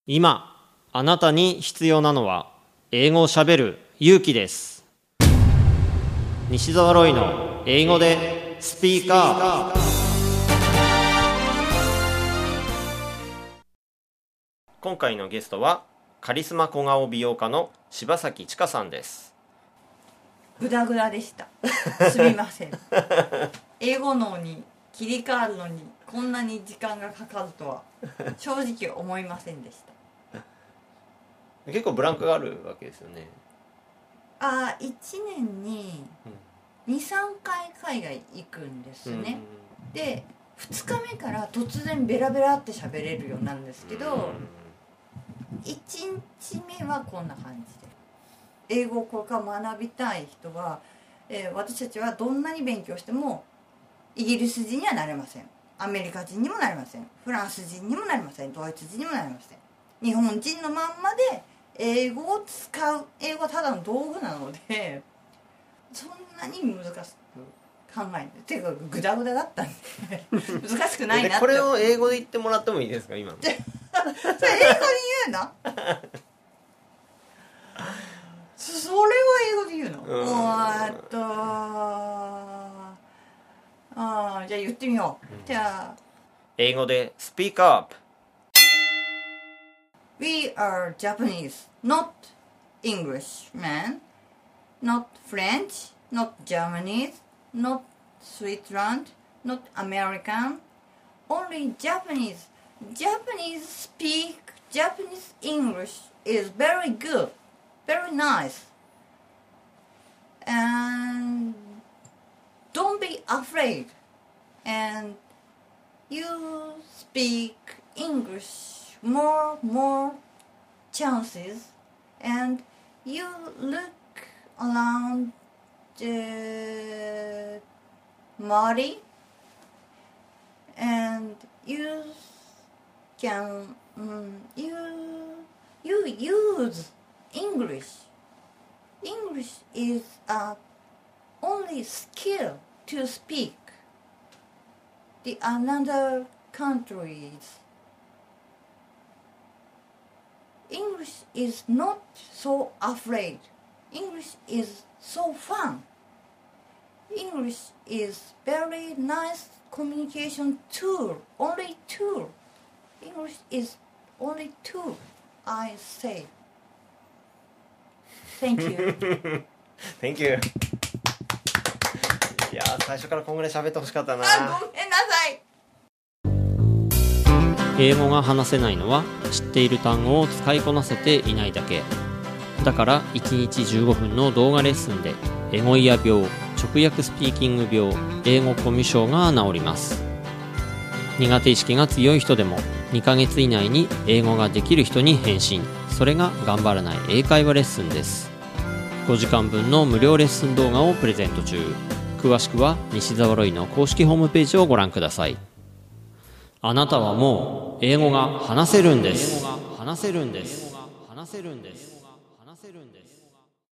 今あなたに必要なのは英語をしゃべる勇気です。西澤ロイの英語でスピーカー。今回のゲストはカリスマ小顔美容家の柴崎千佳さんです。 グダグダでした。すみません。英語脳に切り替わるのにこんなに時間がかかるとは正直思いませんでした。 結構ブランクがあるわけですよね。 1年に 2,3 回海外行くんですね。で2日目から突然ベラベラって喋れるようになるんですけど、1日目はこんな感じで、英語をこれから学びたい人は、私たちはどんなに勉強してもイギリス人にはなれません、アメリカ人にもなれません、フランス人にもなれません、ドイツ人にもなれません。日本人のまんまで英語を使う、英語はただの道具なのでそんなに難しく考えない。ていうかグダグダだったんで難しくないなって。 これを英語で言ってもらってもいいですか今の。 それ英語に言うのそれは英語で言うの。じゃあ言ってみよう。じゃあ英語でスピーカーアップ。 We are Japanese, not English, man. Not French, not Japanese, not Switzerland, not American. Only Japanese. Japanese speak Japanese English is very good, very nice. And don't be afraid. And you speak English more chances, and you look around the body, and you can you use English. English is a only skill to speak the another countries. English is not so afraid. English is so fun. English is very nice communication tool. Only tool. English is only tool. I say. Thank you. Thank you. いや最初からこんぐらい喋ってほしかったな。 ごめんなさい。 英語が話せないのは知っている単語を使いこなせていないだけだから、1日15分の動画レッスンでエゴイヤ病、直訳スピーキング病、英語コミュ障が治ります。苦手意識が強い人でも2ヶ月以内に英語ができる人に変身。それが頑張らない英会話レッスンです。5時間分の無料レッスン動画をプレゼント中。詳しくは西澤ロイの公式ホームページをご覧ください。あなたはもう英語が話せるんです。話せるんです。話せるんです。話せるんです。